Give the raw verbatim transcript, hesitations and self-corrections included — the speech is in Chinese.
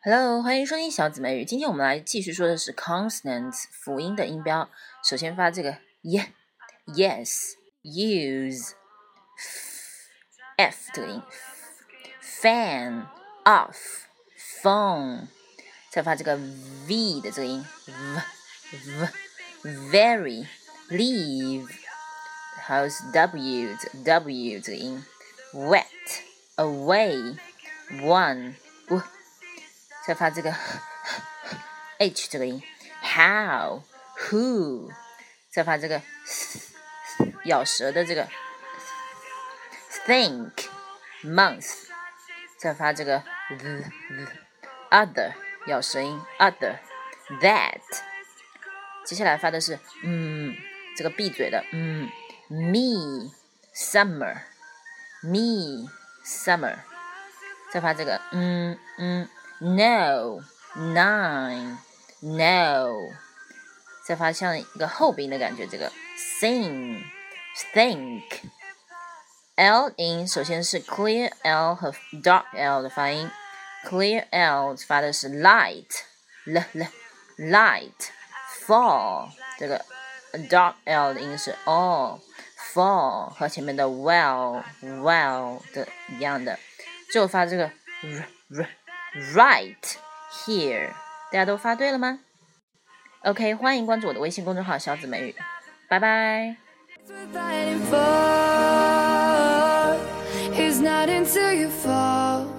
Hello， 欢迎收听小姊妹语。今天我们来继续说的是 consonants 辅音的音标。首先发这个 y yes use f 这个音 fan off phone， 再发这个 v 的这个音 v v very leave， 还有是 w w 这个音 wet away one w，再发这个 h 这个音 how who， 再发这个咬舌的这个 think month， 再发这个 the, the, other 咬舌音 other that， 接下来发的是嗯这个闭嘴的嗯 me summer me summer， 再发这个嗯嗯No, nine, no， 再发像一个后鼻音的感觉，这个 sing, think。 L 音首先是 clear L 和 dark L 的发音， clear L 发的是 light, l l light, fall， 这个 dark L 的音是 all, fall 和前面的 well, well 的一样的，最后发这个 r r right here， 大家都发对了吗 ？OK， 欢迎关注我的微信公众号小姊妹语，拜拜。It's not until you fall